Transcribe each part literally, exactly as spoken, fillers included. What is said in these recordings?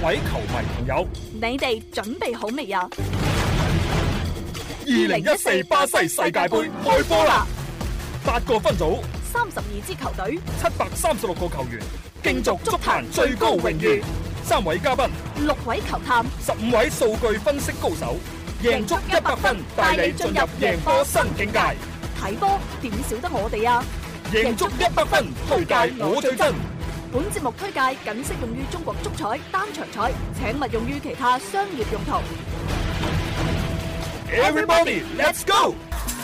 位球迷朋友， 你哋準備好未啊？ 二零一四巴西世界盃開波啦！八個分組， 三十二支球隊， 七百三十六個球員，競逐足壇最高榮譽。三位嘉賓， 六位球探， 十五位數據分析高手，贏足一百分，帶你進入贏波新境界。 睇波點少得我哋啊！ 贏足一百分，推介我最真。 本節目推介僅適用於中國足彩單場彩，請勿用於其他商業用途。 Everybody, let's go！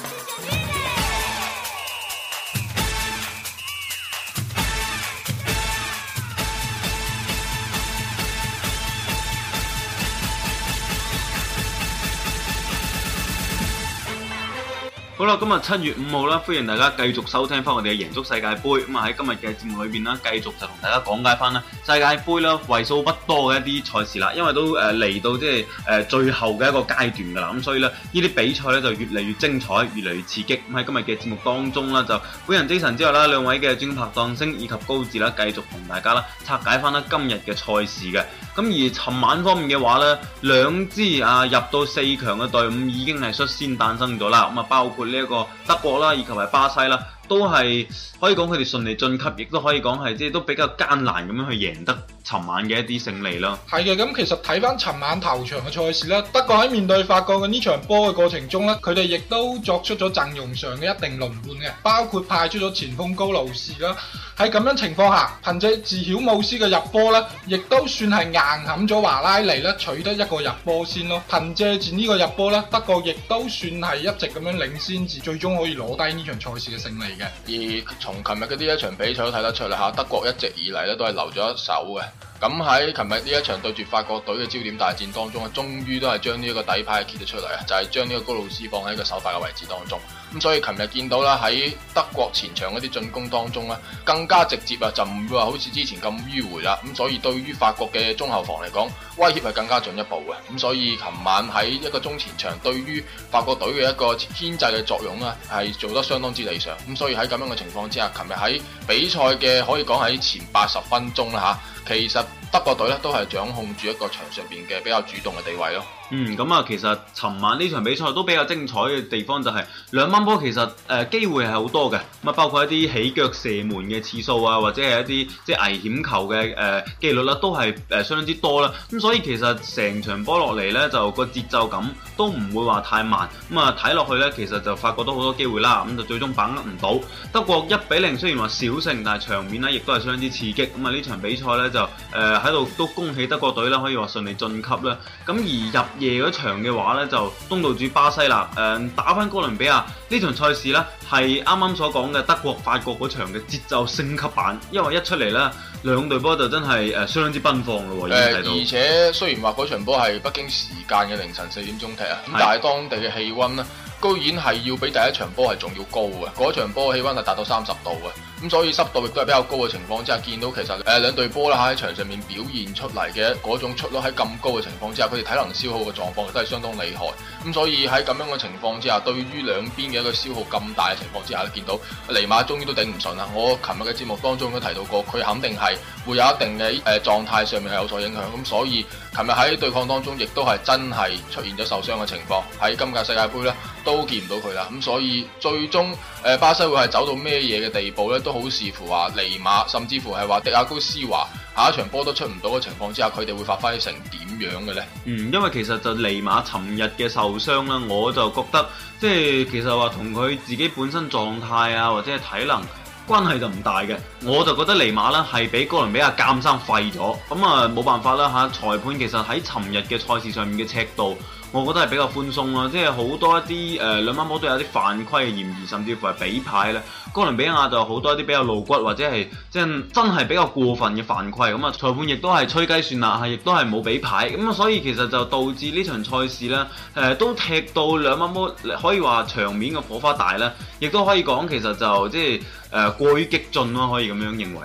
好啦，今日七月五號啦，歡迎大家繼續收聽翻我哋嘅贏足世界盃。咁啊喺今日嘅節目裏邊啦，繼續就同大家講解翻啦世界盃啦為數不多嘅一啲賽事啦，因為都誒嚟到即係誒最後嘅一個階段噶啦，咁所以咧呢啲比賽咧就越嚟越精彩，越嚟越刺激。咁喺今日嘅節目當中啦，就本人 Jason 之外啦，兩位嘅專拍檔星以及高志啦，繼續同大家啦拆解翻啦今日嘅賽事嘅。咁而尋晚方面嘅話咧，兩支啊入到四強嘅隊伍已經係率先誕生咗啦。咁啊包括呢一個德國啦，以及係巴西啦，都係可以講佢哋順利晉級，亦都可以講係即係都比較艱難咁樣去贏得尋晚嘅一啲勝利咯。 係嘅，咁其實睇翻尋晚頭場嘅賽事咧，德國喺面對法國嘅呢場波嘅過程中咧，佢哋亦都作出咗陣容上嘅一定輪換嘅，包括派出咗前鋒高盧士啦。喺咁樣情況下，憑借自曉姆斯嘅入波咧，亦都算係硬撼咗華拉尼咧，取得一個入波先咯。憑借住呢個入波咧，德國亦都算係一直咁樣領先至，最終可以攞低呢場賽事嘅勝利嘅。 而從琴日嘅呢一場比賽都睇得出嚟嚇，德國一直以嚟咧都係留咗一手嘅。咁喺琴日呢一場對住法國隊嘅焦點大戰當中啊，終於都係將呢一個底牌揭咗出嚟啊，就係將呢個高魯斯放喺個首發嘅位置當中。咁所以琴日見到啦，喺德國前場嗰啲進攻當中咧，更加直接啊，就唔會話好似之前咁迂迴啦。咁所以對於法國嘅中後防嚟講，威脅係更加進一步嘅。咁所以琴晚喺一個中前場對於法國隊嘅一個牽制嘅作用咧，係做得相當之理想。咁所以喺咁樣嘅情況之下，琴日喺比賽嘅可以講喺前八十分鐘啦嚇，其實德國隊咧都係掌控住一個場上邊嘅比較主動嘅地位咯。 嗯，咁啊，其實尋晚呢場比賽都比較精彩嘅地方就係兩班波其實誒、呃、機會係好多嘅，咁啊包括一啲起腳射門嘅次數啊，或者係一啲即係危險球嘅誒機率啦，都係誒、呃、相當之多啦。咁所以其實成場波落嚟咧，就個節奏感都唔會話太慢。咁啊睇落去咧，其實就發覺到好多機會啦，咁就最終把握唔到。德國一比零雖然話小勝，但係場面咧亦都係相當之刺激。咁啊呢場比賽咧就誒喺度都恭喜德國隊啦，可以話順利晉級啦。咁而入夜嗰場嘅話咧，就東道主巴西啦，誒、呃、打翻哥倫比亞呢場賽事咧，係啱啱所講嘅德國法國嗰場嘅節奏升級版，因為一出嚟咧，兩隊波就真係誒、呃、相當之奔放咯，已經睇到。 而且雖然話嗰場波係北京時間嘅凌晨四點鐘踢啊，咁但係當地嘅氣温咧，居然係要比第一場波係仲要高嘅，嗰場波氣温係達到三十度嘅，咁所以濕度亦都係比較高嘅情況之下，見到其實誒兩隊波啦喺場上面表現出嚟嘅嗰種出率喺咁高嘅情況之下，佢哋體能消耗嘅狀況亦都係相當厲害，咁所以喺咁樣嘅情況之下，對於兩邊嘅一個消耗咁大嘅情況之下咧，見到尼馬終於都頂唔順啦。我琴日嘅節目當中都提到過，佢肯定係會有一定嘅誒狀態上面係有所影響，咁所以琴日喺對抗當中亦都係真係出現咗受傷嘅情況，喺今屆世界盃咧都見唔到佢啦，咁所以最終誒、呃、巴西會係走到咩嘢嘅地步咧，都好視乎話尼馬，甚至乎係話迪亞高斯華下一場波都出唔到嘅情況之下，佢哋會發揮成點樣嘅咧？ 嗯，因為其實就尼馬尋日嘅受傷啦，我就覺得即係其實話同佢自己本身狀態啊，或者係體能關係就唔大嘅，我就覺得尼馬咧係俾哥倫比亞鑑生廢咗，咁啊冇辦法啦嚇，裁判其實喺尋日嘅賽事上面嘅尺度，我覺得係比較寬鬆啦，即係好多一啲誒、呃、兩班波都有啲犯規嘅嫌疑，甚至乎係比牌咧。哥倫比亞就好多一啲比較露骨或者係即係真係比較過分嘅犯規，咁啊裁判亦都係吹雞算啦，係亦都係冇比牌，咁啊所以其實就導致呢場賽事咧誒、呃、都踢到兩班波可以話場面嘅火花大啦，亦都可以講其實就即係誒、呃、過於激進咯，可以咁樣認為啦。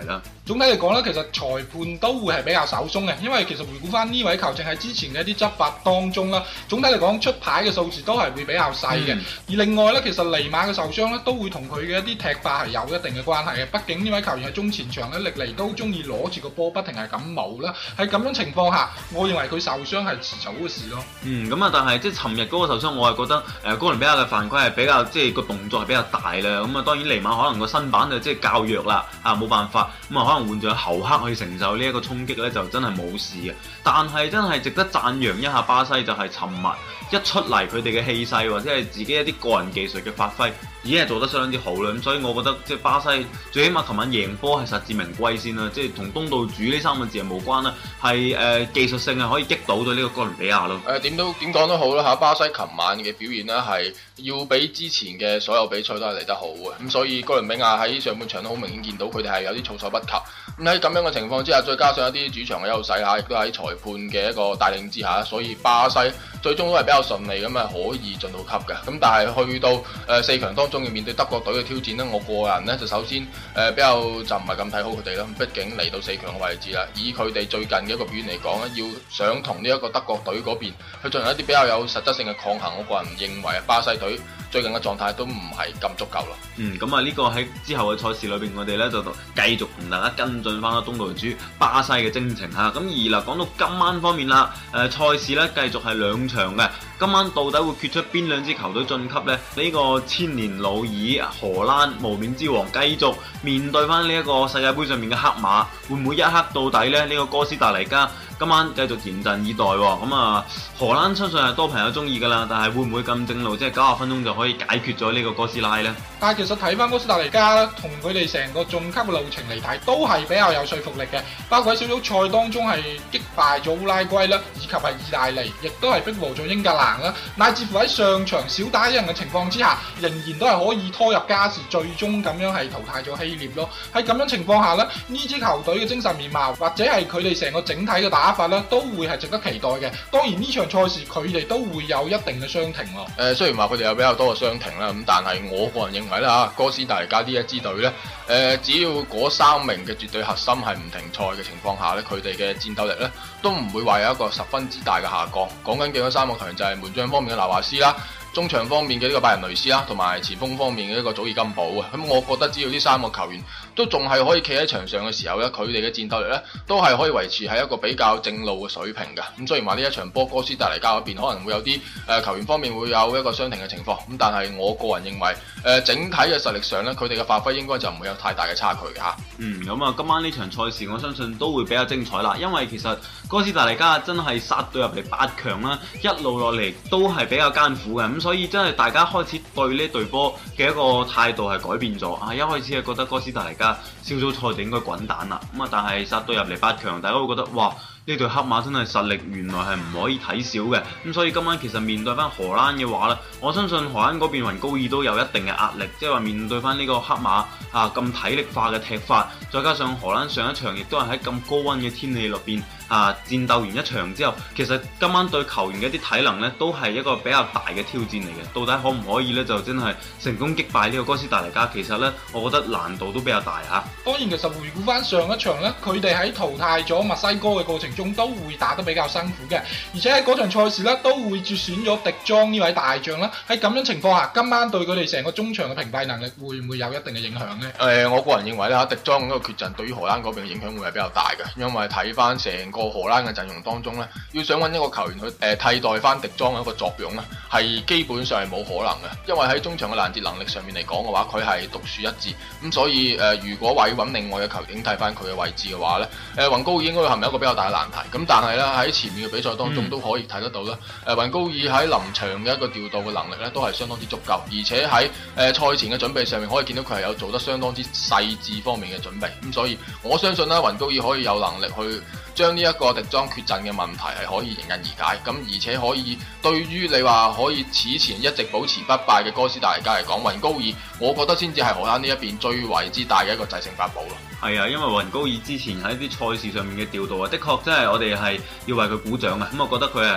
總體嚟講咧，其實裁判都會係比較手鬆嘅，因為其實回顧翻呢位球證喺之前嘅一啲執法當中啦，總體嚟講出牌嘅數字都係會比較細嘅。嗯、而另外咧，其實尼馬嘅受傷咧，都會同佢嘅一啲踢法係有一定嘅關係嘅。畢竟呢位球員喺中前場咧，歷嚟都中意攞住個波不停係咁冇啦。喺咁樣情況下，我認為佢受傷係遲早嘅事咯。 嗯，咁啊，但係即係尋日嗰個受傷，我係覺得誒、呃、哥倫比亞嘅犯規係比較即係個動作係比較大啦。咁啊，當然尼馬可能個身板就即係較弱啦，啊冇辦法，咁啊可能換咗侯克去承受呢一個衝擊咧，就真係冇事嘅。但係真係值得讚揚一下巴西，就係尋日一出嚟佢哋嘅氣勢或者係自己一啲個人技術嘅發揮，已經係做得相當之好啦。咁所以我覺得即係巴西最起碼琴晚贏波係實至名歸先啦，即係同東道主呢三個字係無關啦，係誒、呃、技術性係可以擊倒到呢個哥倫比亞咯。 誒點都點講都好啦嚇，巴西琴晚嘅表現呢係要比之前嘅所有比賽都係嚟得好嘅，咁所以哥倫比亞喺上半場都好明顯見到佢哋係有啲措手不及。咁喺咁樣嘅情況之下，再加上一啲主場嘅優勢嚇，亦都喺裁判嘅一個帶領之下，所以巴西最終都係比較順利咁啊，可以進到級嘅。咁但係去到誒、呃、四強當中要面對德國隊嘅挑戰呢，我個人呢就首先誒、呃、比較就唔係咁睇好佢哋啦。畢竟嚟到四強嘅位置啦，以佢哋最近嘅一個表現嚟講咧，要想同呢一個德國隊嗰邊去進行一啲比較有實質性嘅抗衡，我個人認為巴西隊最近嘅狀態都唔係咁足夠咯。 嗯，咁啊呢個喺之後嘅賽事裏邊，我哋咧就繼續同大家跟進翻啦東道主巴西嘅征程嚇。咁而嗱講到今晚方面啦，誒、呃、賽事咧繼續係兩場嘅。今晚到底會決出邊兩支球隊晉級呢？呢、這個千年老二荷蘭無冕之王繼續面對翻呢一個世界盃上面嘅黑馬，會唔會一克到底呢？呢、這個哥斯達黎加今晚繼續嚴陣以待喎。咁、嗯、啊，荷蘭相信係多朋友中意噶啦，但係會唔會咁正路，即係九十分鐘就可以解決咗呢個哥斯拉呢？ 但係其實睇翻哥斯達黎加咧，同佢哋成個晉級嘅路程嚟睇，都係比較有說服力嘅。包括喺小組賽當中係擊敗咗烏拉圭啦，以及係意大利，亦都係逼和咗英格蘭啦，乃至乎喺上場少打一人嘅情況之下，仍然都係可以拖入加時，最終咁樣係淘汰咗希臘咯。喺咁樣情況下咧，呢支球隊嘅精神面貌或者係佢哋成個整體嘅打法咧，都會係值得期待嘅。當然呢場賽事佢哋都會有一定嘅傷停咯。誒、 呃，雖然話佢哋有比較多嘅傷停啦，咁但係我個人認為咧嚇，哥斯達黎加呢一支隊咧，誒、呃、只要嗰三名嘅絕對核心係唔停賽嘅情況下咧，佢哋嘅戰鬥力咧都唔會話有一個十分之大嘅下降。講緊嘅嗰三個球員就係門將方面嘅拿華斯啦，中場方面嘅呢個拜仁雷斯啦，同埋前鋒方面嘅一個祖爾金寶啊。咁我覺得只要呢三個球員都仲係可以企喺場上嘅時候咧，佢哋嘅戰鬥力咧都係可以維持喺一個比較正路嘅水平嘅。咁雖然話呢一場波哥斯達黎加嗰邊可能會有啲誒、呃、球員方面會有一個傷停嘅情況，咁但係我個人認為誒、呃、整體嘅實力上咧，佢哋嘅發揮應該就唔會有太大嘅差距嘅嚇。 嗯，咁啊今晚呢場賽事我相信都會比較精彩啦，因為其實哥斯達黎加真係殺到入嚟八強啦，一路落嚟都係比較艱苦嘅，咁所以真係大家開始對呢隊波嘅一個態度係改變咗啊！一開始係覺得哥斯達黎加小組賽就應該滾蛋啦，咁啊但係殺到入嚟八強，大家會覺得哇！呢隊黑馬真係實力原來係唔可以睇小嘅，咁所以今晚其實面對翻荷蘭嘅話咧，我相信荷蘭嗰邊雲高爾都有一定嘅壓力，即係話面對翻呢個黑馬啊咁體力化嘅踢法，再加上荷蘭上一場亦都係喺咁高溫嘅天氣入邊啊戰鬥完一場之後，其實今晚對球員嘅一啲體能咧都係一個比較大嘅挑戰嚟嘅，到底可唔可以咧就真係成功擊敗呢個哥斯達黎加？其實咧，我覺得難度都比較大嚇。 當然，其實回顧翻上一場咧，佢哋喺淘汰咗墨西哥嘅過程中都會打得比較辛苦嘅，而且喺嗰場賽事咧都會接選咗迪莊呢位大將啦。喺咁樣情況下，今晚對佢哋成個中場嘅屏蔽能力會唔會有一定嘅影響呢？ 誒、呃，我個人認為咧，迪莊嗰個缺陣對於荷蘭嗰邊嘅影響會係比較大嘅，因為睇翻成個荷蘭嘅陣容當中咧，要想揾一個球員去誒、呃、替代翻迪莊嘅一個作用咧，係基本上係冇可能嘅，因為喺中場嘅攔截能力上面嚟講嘅話，佢係獨樹一幟。咁所以誒、呃，如果話要揾另外嘅球員替翻佢嘅位置嘅話咧，誒、呃、雲高爾應該會陷入一個比較大嘅難題。咁但係咧喺前面嘅比賽當中都可以睇得到啦，誒、嗯、雲高爾喺臨場嘅一個調度嘅能力咧都係相當之足夠，而且喺誒賽前嘅準備上面可以見到佢係有做得相當之細緻方面嘅準備。咁所以我相信咧雲高爾可以有能力去將呢一個迪莊缺陣嘅問題係可以迎刃而解。咁而且可以對於你話可以此前一直保持不敗嘅哥斯達黎加嚟講，雲高爾我覺得先至係荷蘭呢一邊最為之大嘅一個制勝法寶咯。 係啊，因為雲高爾之前喺啲賽事上面嘅調度啊，的確真係我哋係要為佢鼓掌啊！咁我覺得佢係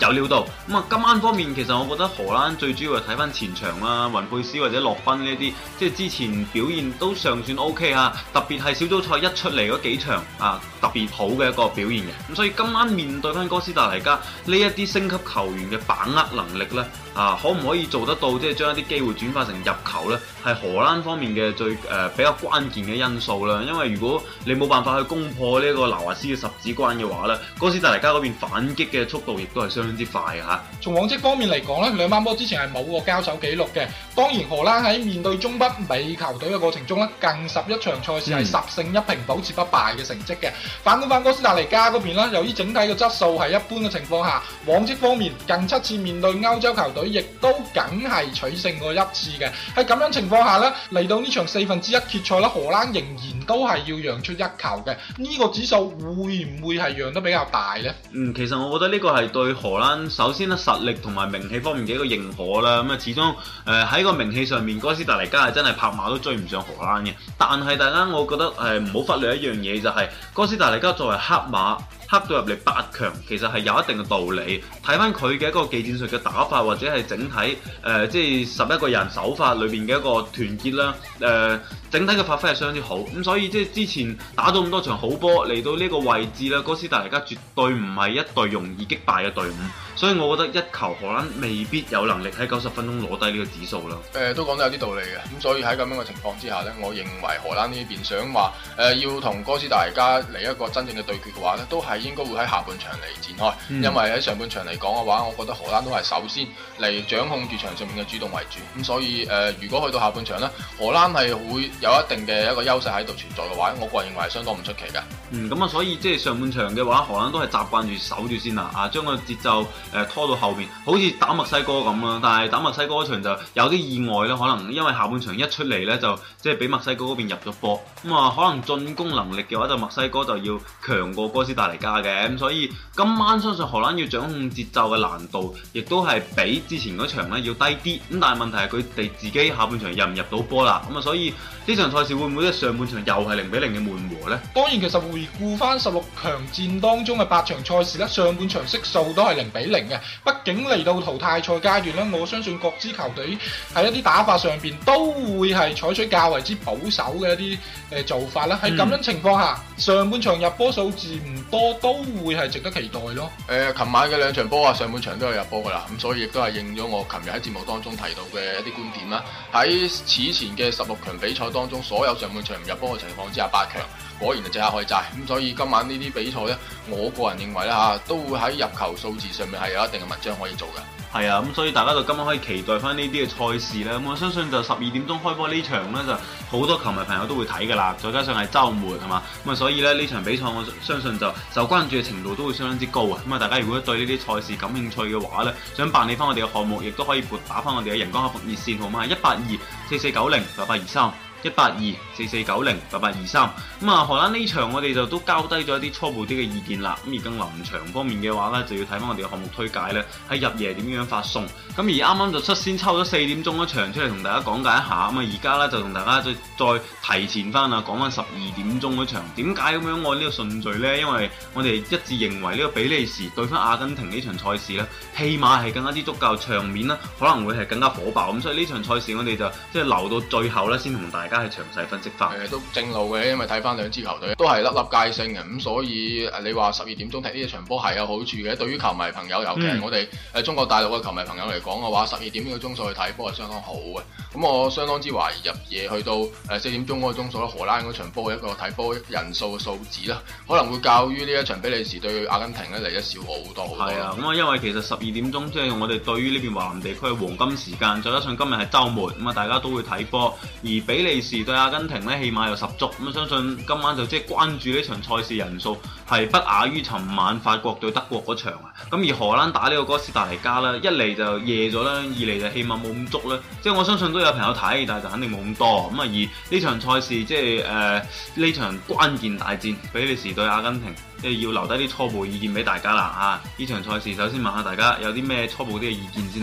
有料到。咁啊，今晚方面其實我覺得荷蘭最主要係睇翻前場啦，雲佩斯或者洛賓呢啲，即係之前表現都尚算 O K 啊，特別係小組賽一出嚟嗰幾場啊，特別好嘅一個表現嘅。咁所以今晚面對翻哥斯達黎加呢一啲升級球員嘅把握能力呢，啊，可唔可以做得到？即係將一啲機會轉化成入球呢？係荷蘭方面嘅最誒、呃、比較關鍵嘅因素啦。因為如果你冇辦法去攻破呢個拿華斯嘅十指關嘅話呢，哥斯達黎加嗰邊反擊嘅速度亦都係相當之快嘅嚇。 從往績方面嚟講呢，兩班波之前係冇過交手記錄嘅。當然荷蘭喺面對中北美球隊嘅過程中呢，近十一場賽事係十勝一平保持不敗嘅成績嘅。反觀翻哥斯達黎加嗰邊呢，由於整體嘅質素係一般嘅情況下，往績方面近七次面對歐洲球隊，亦都梗係取勝過一次嘅。喺咁樣情況下呢，嚟到呢場四分之一決賽啦，荷蘭仍然都係要讓出一球嘅。呢、這個指數會唔會係讓得比較大呢？ 嗯，其實我覺得呢個係對荷蘭首先咧實力同埋名氣方面嘅一個認可啦。咁啊，始終誒喺個名氣上面，哥斯達黎加係真係拍馬都追唔上荷蘭嘅。但係大家我覺得誒唔好忽略一樣嘢，就係、是、哥斯達黎加作為黑馬。黑到入嚟八強，其實係有一定嘅道理。睇翻佢嘅一個技戰術嘅打法，或者係整體誒、呃，即係十一個人手法裏邊嘅一個團結啦。誒、呃，整體嘅發揮係相當之好。咁所以即係之前打咗咁多場好波，嚟到呢個位置咧，哥斯達黎加絕對唔係一隊容易擊敗嘅隊伍。所以我覺得一球荷蘭未必有能力喺九十分鐘攞低呢個指數啦。 誒、呃，都講得有啲道理嘅。咁所以喺咁樣嘅情況之下呢，我認為荷蘭呢邊想話誒、呃、要同哥斯達黎加嚟一個真正嘅對決嘅話呢，都係應該會喺下半場嚟展開。嗯、因為喺上半場嚟講嘅話，我覺得荷蘭都係首先嚟掌控住場上面嘅主動為主。咁所以誒、呃，如果去到下半場呢，荷蘭係會有一定嘅一個優勢喺度存在嘅話，我個人認為係相當唔出奇嘅。 嗯，咁啊，所以即係上半場嘅話，荷蘭都係習慣住守住先啦，啊，將個節奏誒、呃、拖到後面，好似打墨西哥咁啦。但係打墨西哥嗰場就有啲意外啦，可能因為下半場一出嚟咧，就即係俾墨西哥嗰邊入咗波，咁啊，可能進攻能力嘅話，就墨西哥就要強過哥斯達黎加嘅。咁所以今晚相信荷蘭要掌控節奏嘅難度，亦都係比之前嗰場咧要低啲。咁但係問題係佢哋自己下半場入唔入到波啦。咁啊，所以呢場賽事會唔會喺上半場又係零比零嘅悶和呢？ 當然，其實回顧翻十六強戰當中嘅八場賽事咧，上半場色數都係零比零嘅。畢竟嚟到淘汰賽階段咧，我相信各支球隊喺一啲打法上邊都會係採取較為之保守嘅一啲誒做法啦。喺咁樣情況下，嗯、上半場入波數字唔多，都會係值得期待咯。誒、 呃，琴晚嘅兩場波啊，上半場都有入波噶啦，咁所以亦都係應咗我琴日喺節目當中提到嘅一啲觀點啦。喺此前嘅十六強比賽當中，所有上半場唔入波嘅情況之下，八強果然就即刻開齋。咁所以今晚呢啲比賽呢，我個人認為咧嚇，都會喺入球數字上面係有一定嘅文章可以做嘅。係啊，咁所以大家就今晚可以期待翻呢啲嘅賽事啦。咁我相信就十二點鐘開波呢場呢，就好多球迷朋友都會睇㗎啦。再加上係週末係嘛，咁啊所以咧呢場比賽我相信就受關注嘅程度都會相當之高啊。咁啊大家如果對呢啲賽事感興趣嘅話呢，想辦理翻我哋嘅項目，亦都可以撥打翻我哋嘅人工客服熱線號碼係一八二四四九零八八二三。一八二四四九零八八二三。咁啊，荷蘭呢場我哋就都交低咗一啲初步啲嘅意見啦。咁而更臨場方面嘅話呢，就要睇翻我哋嘅項目推介呢，喺入夜點樣發送。咁而啱啱就率先抽咗四點鐘一場出嚟同大家講解一下。咁啊，而家呢，就同大家再再提前翻啊，講翻十二點鐘嗰場。點解咁樣按呢個順序呢？因為我哋一致認為呢個比利時對翻阿根廷呢場賽事呢，起碼係更加之足夠，場面呢可能會係更加火爆。咁所以呢場賽事我哋就即係留到最後呢，先同大家係詳細分析翻。 誒都正路嘅，因為睇翻兩支球隊都係粒粒皆星嘅，咁所以你話十二點鐘踢呢一場波係有好處嘅。對於球迷朋友，尤其係我哋誒中國大陸嘅球迷朋友嚟講嘅話，十二點呢個鐘數去睇波係相當好嘅。咁我相當之懷疑入夜去到誒四點鐘嗰個鐘數咧，荷蘭嗰場波一個睇波人數嘅數字啦，可能會較於呢一場比利時對阿根廷咧嚟得少好多好多。 係啊，咁啊，因為其實十二點鐘即係我哋對於呢邊華南地區嘅黃金時間，再加上今日係週末，咁啊大家都會睇波。而比利時對阿根廷咧，起碼有十足，咁啊相信今晚就即係關注呢場賽事人數係不亞於尋晚法國對德國嗰場啊。咁而荷蘭打呢個哥斯達黎加啦，一嚟就夜咗啦，二嚟就起碼冇咁足啦。即係我相信都有朋友睇，但係就肯定冇咁多。咁啊而呢場賽事即係誒呢場關鍵大戰，比利時對阿根廷，即係要留低啲初步意見俾大家啦。啊，呢場賽事首先問下大家有啲咩初步啲嘅意見先呢？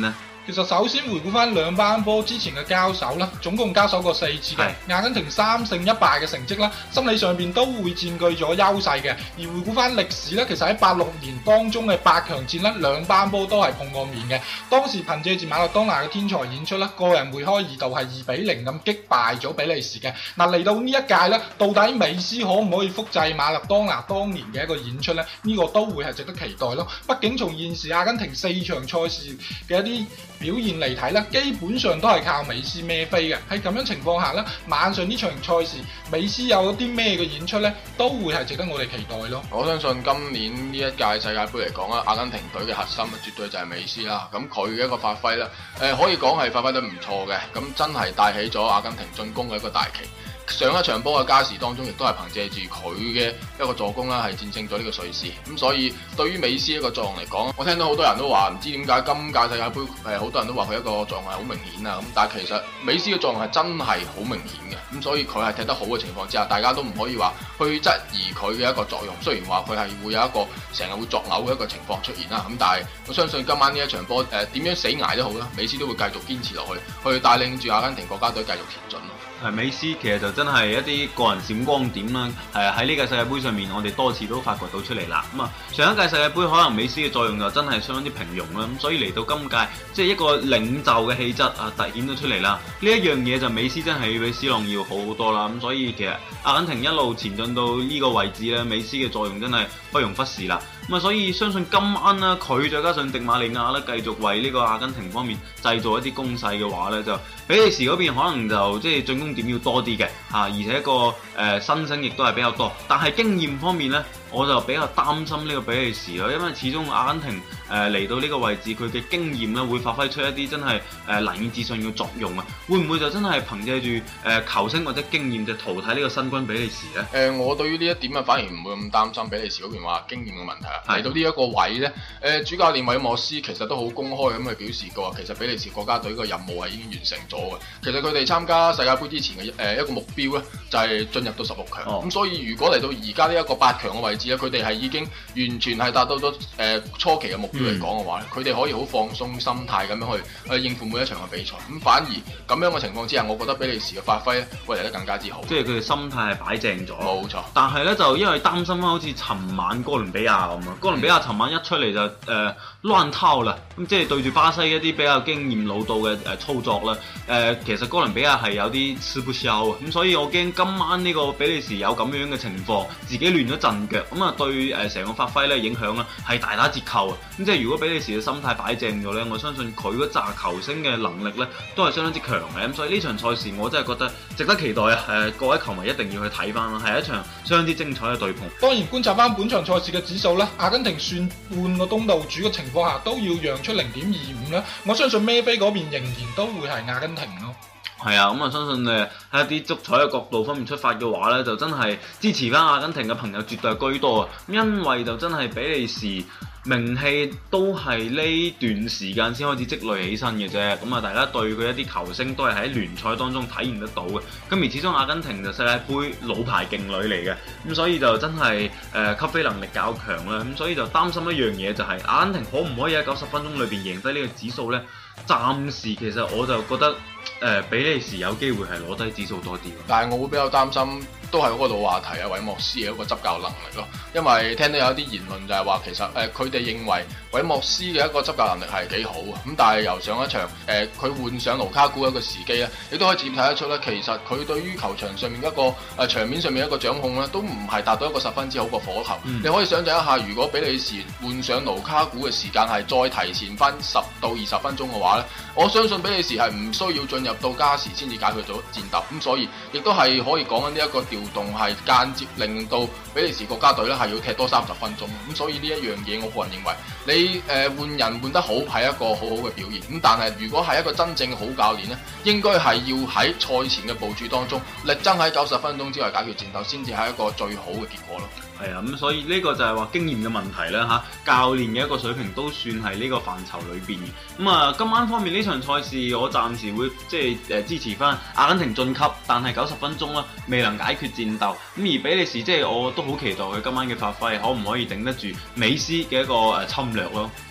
其實首先回顧翻兩班波之前嘅交手啦，總共交手過四次嘅，阿根廷三勝一敗嘅成績啦，心理上邊都會佔據咗優勢嘅。而回顧翻歷史咧，其實喺八六年當中嘅八強戰咧，兩班波都係碰過面嘅。當時憑借住馬勒當拿嘅天才演出啦，個人梅開二度係二比零咁擊敗咗比利時嘅。嗱，嚟到呢一屆咧，到底美斯可唔可以複製馬勒當拿當年嘅一個演出咧？呢、這個都會係值得期待咯。畢竟從現時阿根廷四場賽事嘅一啲表現嚟睇咧，基本上都係靠美斯孭飛嘅。喺咁樣情況下咧，晚上呢場賽事，美斯有啲咩嘅演出咧，都會係值得我哋期待咯。 我相信今年呢一屆世界盃嚟講啊，阿根廷隊嘅核心啊，絕對就係美斯啦。咁佢嘅一個發揮咧，誒、呃、可以講係發揮得唔錯嘅。咁真係帶起咗阿根廷進攻嘅一個大旗。上一場波嘅加時當中，亦都係憑借住佢嘅一個助攻啦，係戰勝咗呢個瑞士。咁所以對於美斯一個作用嚟講，我聽到好多人都話唔知點解今屆世界盃誒好多人都話佢一個作用係好明顯啊。咁但係其實美斯嘅作用係真係好明顯嘅。咁所以佢係踢得好嘅情況之下，大家都唔可以話去質疑佢嘅一個作用。雖然話佢係會有一個成日會作嘔嘅一個情況出現啦。咁但係我相信今晚呢一場波誒點樣死捱都好啦，美斯都會繼續堅持落去，去帶領住阿根廷國家隊繼續前進咯。 係美斯其實就真係一啲個人閃光點啦，係喺呢個世界盃上面，我哋多次都發掘到出嚟啦。咁啊，上一屆世界盃可能美斯嘅作用就真係相當之平庸啦，咁所以嚟到今屆，即係一個領袖嘅氣質啊，突顯咗出嚟啦。呢一樣嘢就美斯真係比 C 朗要好好多啦。咁所以其實阿根廷一路前進到呢個位置咧，美斯嘅作用真係不容忽視啦。咁啊，所以相信今晚啦，佢再加上迪馬利亞咧，繼續為呢個阿根廷方面製造一啲攻勢嘅話咧，就比利時嗰邊可能就即係進攻點要多啲嘅嚇，而且一個誒、呃、新星亦都係比較多，但係經驗方面咧，我就比較擔心呢個比利時咯，因為始終阿根廷誒嚟、呃、到呢個位置，佢嘅經驗咧會發揮出一啲真係誒、呃、難以置信嘅作用啊！會唔會就真係憑借住誒、呃、球星或者經驗就淘汰呢個新軍比利時咧？誒、 呃，我對於呢一點啊，反而唔會咁擔心比利時嗰邊話經驗嘅問題啊。嚟到呢一個位咧，誒、呃、主教練韋莫斯其實都好公開咁去表示過，其實比利時國家隊個任務係已經完成咗嘅。其實佢哋參加世界盃之前嘅誒、呃、一個目標咧，就係、是、進入到十六強。咁、哦、所以如果嚟到而家呢一個八強嘅位置咧，佢哋係已經完全係達到咗誒、呃、初期嘅目標嚟講嘅話咧，佢、嗯、哋可以好放鬆心態咁樣去去應付每一場嘅比賽。咁反而咁樣嘅情況之下，我覺得比利時嘅發揮咧會嚟得更加之好。 即係佢哋心態係擺正咗。 冇錯。但係咧就因為擔心啦，好似尋晚哥倫比亞咁啊，哥倫比亞尋晚一出嚟就誒、呃、亂套啦，咁即係對住巴西一啲比較經驗老道嘅誒操作啦。誒、呃、其實哥倫比亞係有啲吃不消啊，咁所以我驚今晚呢個比利時有咁樣嘅情況，自己亂咗陣腳，咁啊對誒成個發揮咧影響咧係大打折扣啊。咁即係如果比利時嘅心態擺正咗咧，我相信佢嗰紮球星嘅能力咧都係相當之強嘅。咁所以呢場賽事我真係覺得值得期待啊！誒各位球迷一定要去睇翻啦，係一場相當之精彩嘅對碰。 當然觀察翻本場賽事嘅指數啦，阿根廷算半個東道主嘅情況下都要讓出零點二五啦。我相信孭飛嗰邊仍然都會係阿根廷咯。 係啊，咁啊相信誒喺一啲足彩嘅角度方面出發嘅話咧，就真係支持翻阿根廷嘅朋友絕對係居多啊！因為就真係比利時名氣都係呢段時間先開始積累起身嘅啫，咁啊大家對佢一啲球星都係喺聯賽當中體驗得到嘅。咁而始終阿根廷就世界盃老牌勁旅嚟嘅，咁所以就真係誒吸飛能力較強啦。咁所以就擔心一樣嘢就係、是、阿根廷可唔可以喺九十分鐘裏邊贏低呢個指數咧？暫時其實我就覺得誒、呃、比利時有機會係攞低指數多啲， 但係我會比較擔心。都係嗰個老話題啊，韋莫斯嘅一個執教能力咯。因為聽到有啲言論就係話，其實誒佢哋認為韋莫斯嘅一個執教能力係幾好啊。咁但係由上一場誒佢換上盧卡古一個時機咧，亦都可以直接睇得出咧，其實佢對於球場上面一個誒、呃、場面上面一個掌控咧，都唔係達到一個十分之好嘅火球。嗯、你可以想象一下，如果比利時換上盧卡古嘅時間係再提前翻十到二十分鐘嘅話咧，我相信比利時係唔需要進入到加時先至解決咗戰鬥。咁所以亦都係可以講緊呢一個調動係間接令到比利時國家隊咧係要踢多三十分鐘，咁所以呢一樣嘢，我個人認為你誒換人換得好係一個好好嘅表現，咁但係如果係一個真正嘅好教練咧，應該係要喺賽前嘅部署當中力爭喺九十分鐘之內解決戰鬥，先至係一個最好嘅結果咯。 係啊，咁所以呢個就係話經驗嘅問題啦嚇，教練嘅一個水平都算係呢個範疇裏邊嘅。咁啊，今晚方面呢場賽事，我暫時會即係誒支持翻阿根廷晉級，但係九十分鐘啦未能解決戰鬥。咁而比利時即係我都好期待佢今晚嘅發揮，可唔可以頂得住美斯嘅一個誒侵略咯？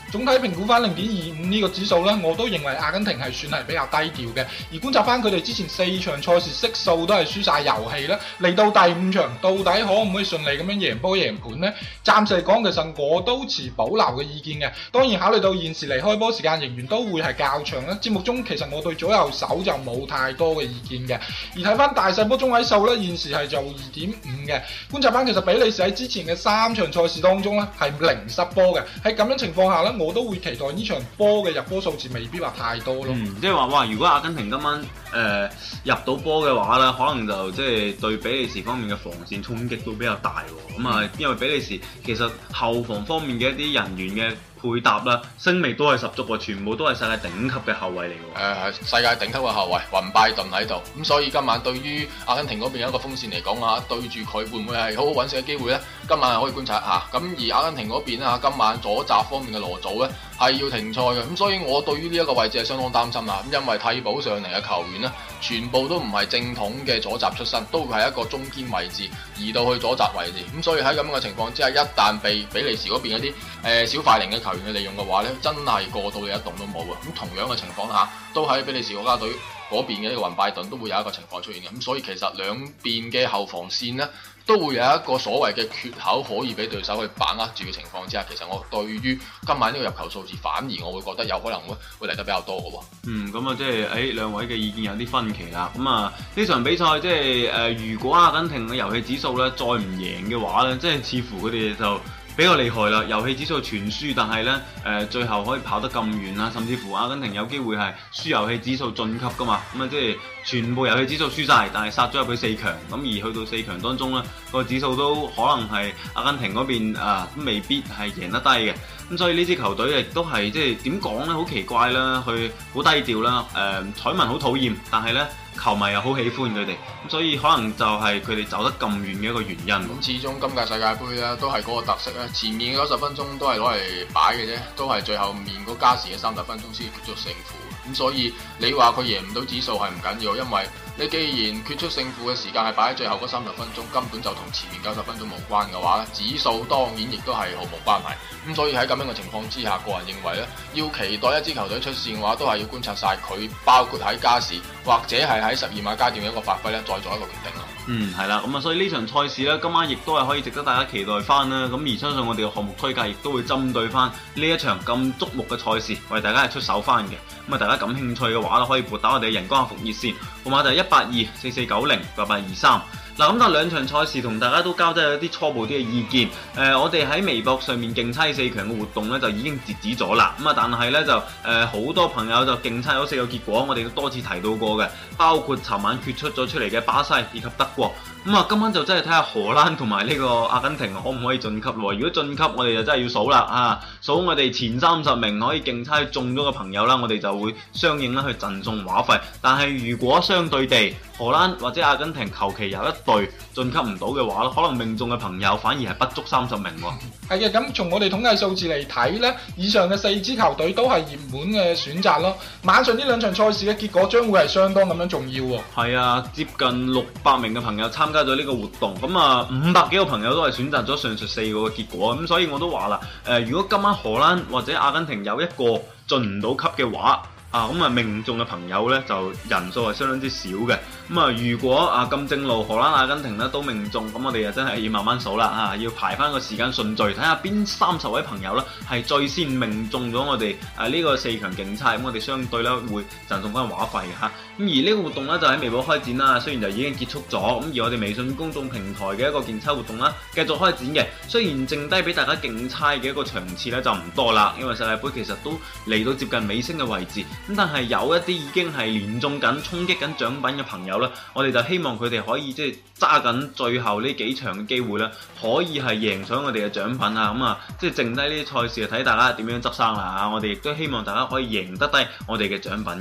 總體評估翻零點二五呢個指數呢，我都認為阿根廷係算係比較低調嘅。而觀察翻佢哋之前四場賽事悉數都係輸晒遊戲啦，嚟到第五場到底可唔可以順利咁樣贏波贏盤呢？暫時嚟講，其實我都持保留嘅意見嘅。當然考慮到現時離開波時間仍然都會係較長啦，節目中其實我對左右手就冇太多嘅意見嘅。而睇翻大細波中位數呢，現時係就二點五嘅。觀察翻其實比利時喺之前嘅三場賽事當中呢係零失波嘅。喺咁樣情況下呢，我都會期待呢場波嘅入波數字未必話太多咯。 嗯，即係話哇，如果阿根廷今晚誒、呃、入到波嘅話咧，可能就即係對比利時方面嘅防線衝擊都比較大喎。咁啊、嗯，因為比利時其實後防方面嘅一啲人員嘅配搭啦，聲味都係十足喎，全部都係世界頂級嘅後衛嚟喎。 誒係世界頂級嘅後衛，雲拜頓喺度，咁所以今晚對於阿根廷嗰邊有一個風扇嚟講啊，對住佢會唔會係好好揾食嘅機會呢？今晚係可以觀察一下。咁而阿根廷嗰邊啊，今晚左閘方面嘅羅祖呢係要停賽嘅，咁所以我對於呢一個位置係相當擔心啦。咁因為替補上嚟嘅球員呢，全部都唔係正統嘅左閘出身，都會係一個中堅位置移到去左閘位置。咁所以喺咁樣嘅情況之下，一旦被比利時嗰邊嗰啲誒小快靈嘅球員去利用嘅話呢，真係過到你一動都冇啊！咁同樣嘅情況下，都喺比利時國家隊嗰邊嘅呢個雲拜頓都會有一個情況出現嘅。咁所以其實兩邊嘅後防線呢，都會有一個所謂嘅缺口可以俾對手去把握住嘅情況之下，其實我對於今晚呢個入球數字反而我會覺得有可能會會嚟得比較多嘅喎。 嗯，咁啊即係誒兩位嘅意見有啲分歧啦。咁啊呢場比賽即係誒如果阿根廷嘅遊戲指數咧再唔贏嘅話咧，即係似乎佢哋就比較厲害啦，遊戲指數全輸，但係咧誒最後可以跑得咁遠啦，甚至乎阿根廷有機會係輸遊戲指數晉級噶嘛，咁啊即係全部遊戲指數輸晒，但係殺咗入去四強，咁而去到四強當中咧個指數都可能係阿根廷嗰邊啊都未必係贏得低嘅，咁所以呢支球隊亦都係即係點講咧，好奇怪啦，佢好低調啦，誒彩民好討厭，但係咧球迷又好喜歡佢哋，咁所以可能就係佢哋走得咁遠嘅一個原因。 咁始終今屆世界盃咧都係嗰個特色咧，前面嘅九十分鐘都係攞嚟擺嘅啫，都係最後面嗰加時嘅三十分鐘先決出勝負。咁所以你話佢贏唔到指數係唔緊要，因為你既然決出勝負嘅時間係擺喺最後嗰三十分鐘，根本就同前面九十分鐘無關嘅話咧，指數當然亦都係毫無關係。咁所以喺咁樣嘅情況之下，個人認為咧，要期待一支球隊出線嘅話，都係要觀察晒佢，包括喺加時或者係喺十二碼階段嘅一個發揮咧，再做一個決定咯。 嗯，係啦，咁啊，所以呢場賽事咧，今晚亦都係可以值得大家期待翻啦。咁而相信我哋嘅項目推介亦都會針對翻呢一場咁矚目嘅賽事，為大家係出手翻嘅。咁啊，大家感興趣嘅話咧，可以撥打我哋嘅人工客服熱線，號碼就係一八二四四九零八八二三。嗱，咁但係兩場賽事同大家都交低咗啲初步啲嘅意見。誒、呃，我哋喺微博上面競猜四強嘅活動咧就已經截止咗啦。咁啊，但係咧就誒好、呃、多朋友就競猜咗四個結果，我哋都多次提到過嘅，包括尋晚決出咗出嚟嘅巴西以及德國。咁啊，今晚就真係睇下荷蘭同埋呢個阿根廷可唔可以晉級咯？如果晉級，我哋就真係要數啦啊！數我哋前三十名可以競猜中咗嘅朋友啦，我哋就會相應咧去贈送話費。但係如果相對地，荷蘭或者阿根廷求其有一隊晉級唔到嘅話，可能命中嘅朋友反而係不足三十名喎。 係嘅，咁從我哋統計數字嚟睇呢，以上嘅四支球隊都係熱門嘅選擇咯。晚上呢兩場賽事嘅結果將會係相當咁樣重要喎。 係啊，接近六百名嘅朋友參加咗呢個活動，咁啊五百幾個朋友都係選擇咗上述四個嘅結果，咁所以我都話啦，誒、呃、如果今晚荷蘭或者阿根廷有一個進唔到級嘅話，啊咁啊命中嘅朋友呢就人數係相當之少嘅。咁啊如果啊咁正路荷蘭阿根廷呢都命中，咁我哋就真係要慢慢數啦，啊要排翻個時間順序，睇下邊三十位朋友呢係最先命中咗我哋啊呢個四強競猜，咁我哋相對呢會贈送翻話費嘅嚇。咁而呢個活動呢就喺微博開展啦，雖然就已經結束咗，咁而我哋微信公眾平台嘅一個競猜活動啦繼續開展嘅，雖然剩低俾大家競猜嘅一個場次呢就唔多啦，因為世界盃其實都嚟到接近尾聲嘅位置。咁但係有一啲已經係連中緊、衝擊緊獎品嘅朋友咧，我哋就希望佢哋可以即係揸緊最後呢幾場嘅機會咧，可以係贏取我哋嘅獎品啊！咁啊，即係剩低呢啲賽事睇大家點樣執生啦嚇！我哋亦都希望大家可以贏得低我哋嘅獎品嘅。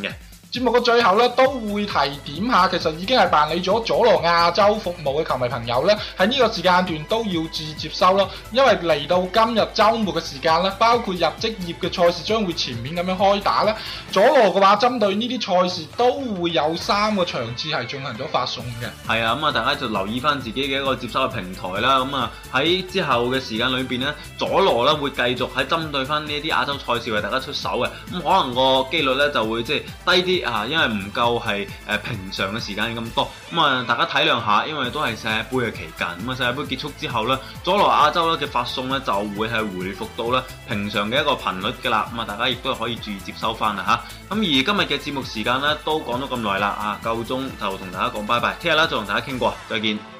節目嘅最後咧，都會提點下，其實已經係辦理咗佐羅亞洲服務嘅球迷朋友咧，喺呢個時間段都要注意接收咯。因為嚟到今日週末嘅時間咧，包括入職業嘅賽事將會全面咁樣開打咧。佐羅嘅話，針對呢啲賽事都會有三個場次係進行咗發送嘅。 係啊，咁啊，大家就留意翻自己嘅一個接收嘅平台啦。咁啊，喺之後嘅時間裏邊咧，佐羅咧會繼續喺針對翻呢一啲亞洲賽事為大家出手嘅。咁可能個機率咧就會即係低啲啊，因為唔夠係誒平常嘅時間咁多。咁啊，大家體諒下，因為都係世界盃嘅期間。咁啊，世界盃結束之後咧，佐羅亞洲咧嘅發送咧就會係回復到咧平常嘅一個頻率㗎啦。咁啊，大家亦都可以注意接收翻啦嚇。咁而今日嘅節目時間咧都講咗咁耐啦，啊夠鐘就同大家講拜拜，聽日啦再同大家傾過，再見。